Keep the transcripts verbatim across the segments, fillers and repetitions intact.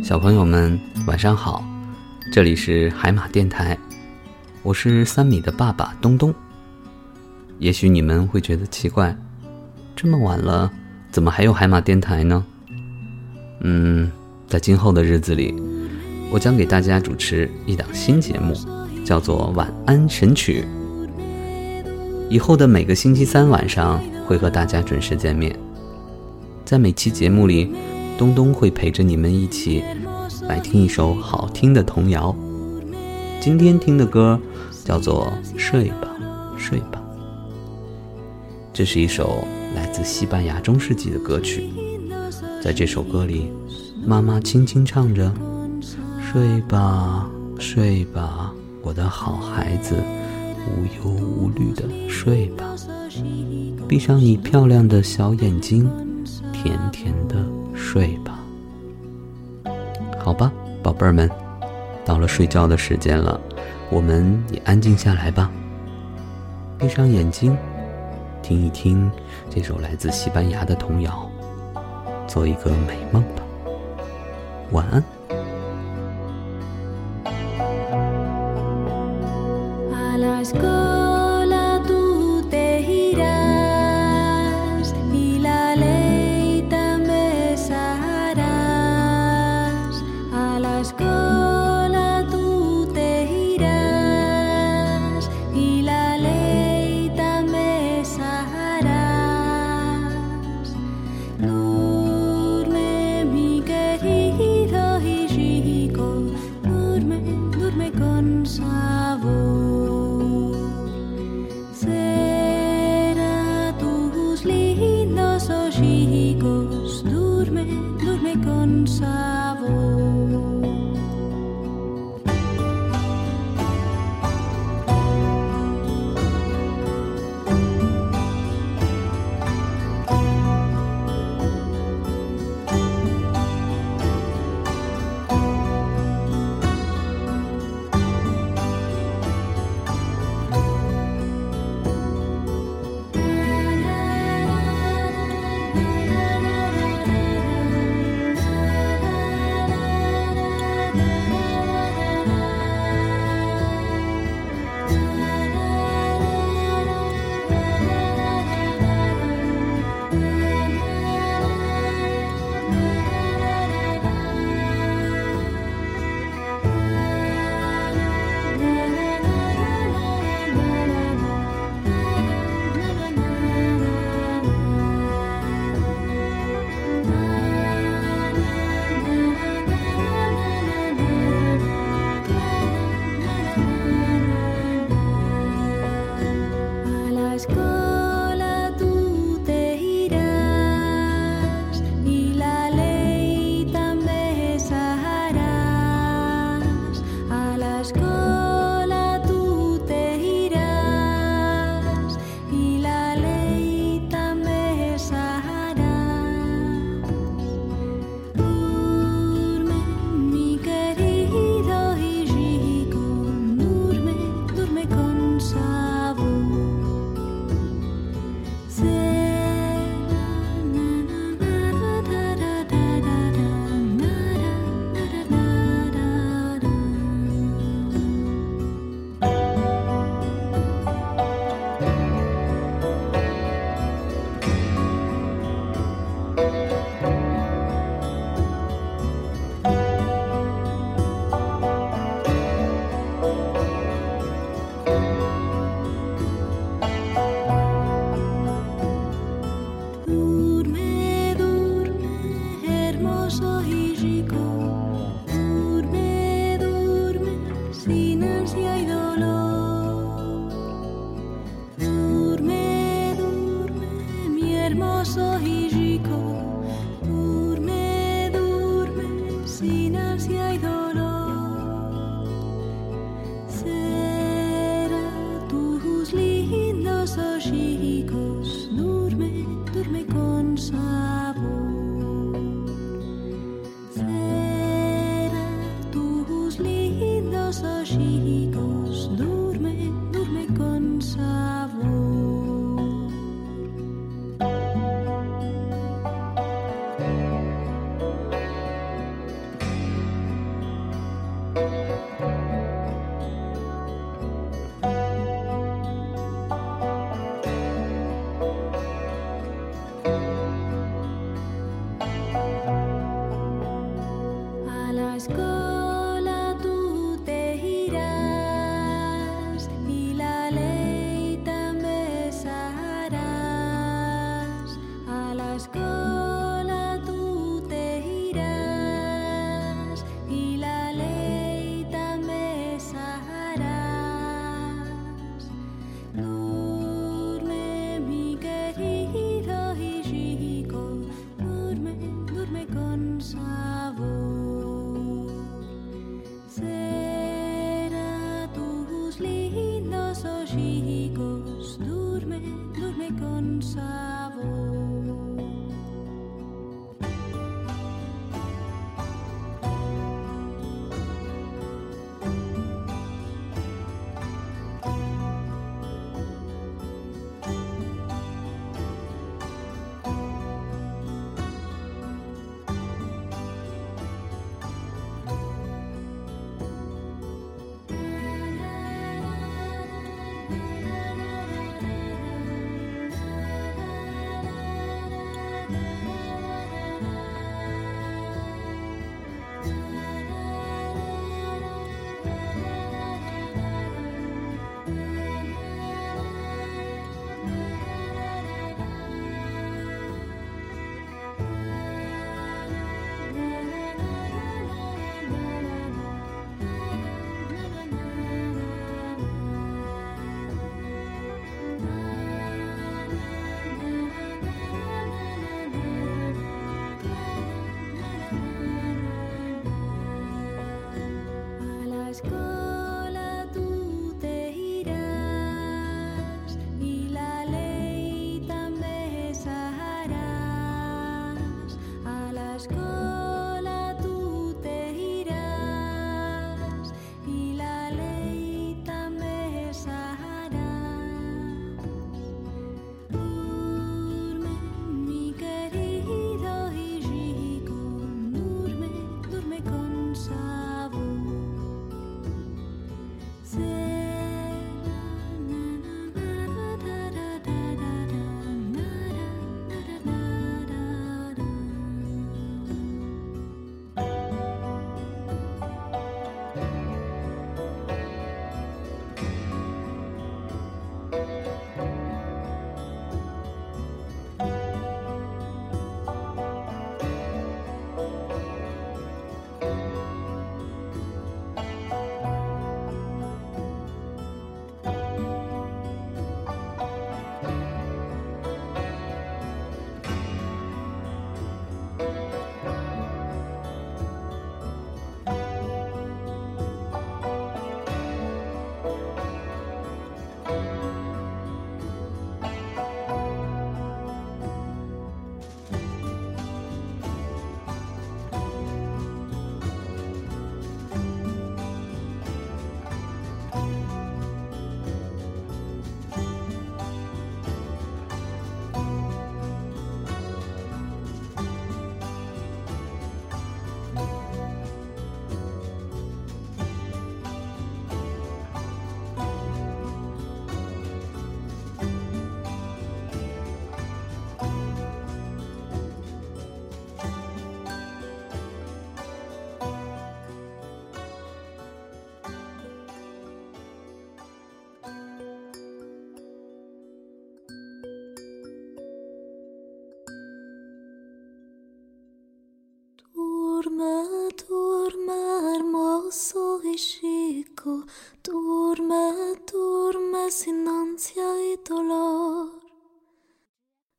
小朋友们晚上好，这里是海马电台，我是三米的爸爸东东。也许你们会觉得奇怪，这么晚了怎么还有海马电台呢？嗯，在今后的日子里，我将给大家主持一档新节目，叫做晚安神曲。以后的每个星期三晚上会和大家准时见面，在每期节目里，东东会陪着你们一起来听一首好听的童谣。今天听的歌叫做睡吧睡吧，这是一首来自西班牙中世纪的歌曲。在这首歌里，妈妈轻轻唱着，睡吧睡吧，我的好孩子，无忧无虑的睡吧，闭上你漂亮的小眼睛，甜甜的睡吧。好吧，宝贝儿们，到了睡觉的时间了，我们也安静下来吧，闭上眼睛，听一听这首来自西班牙的童谣，做一个美梦吧。晚安。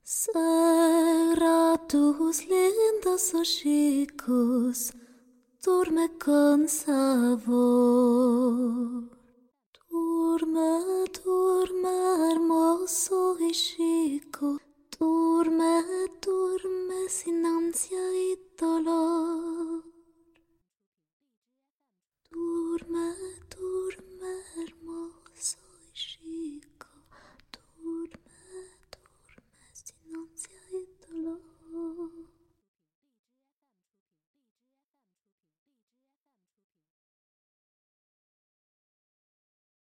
Será tus lindos hocicos, duerme con sabor. Duerme, duerme, hermoso y chico,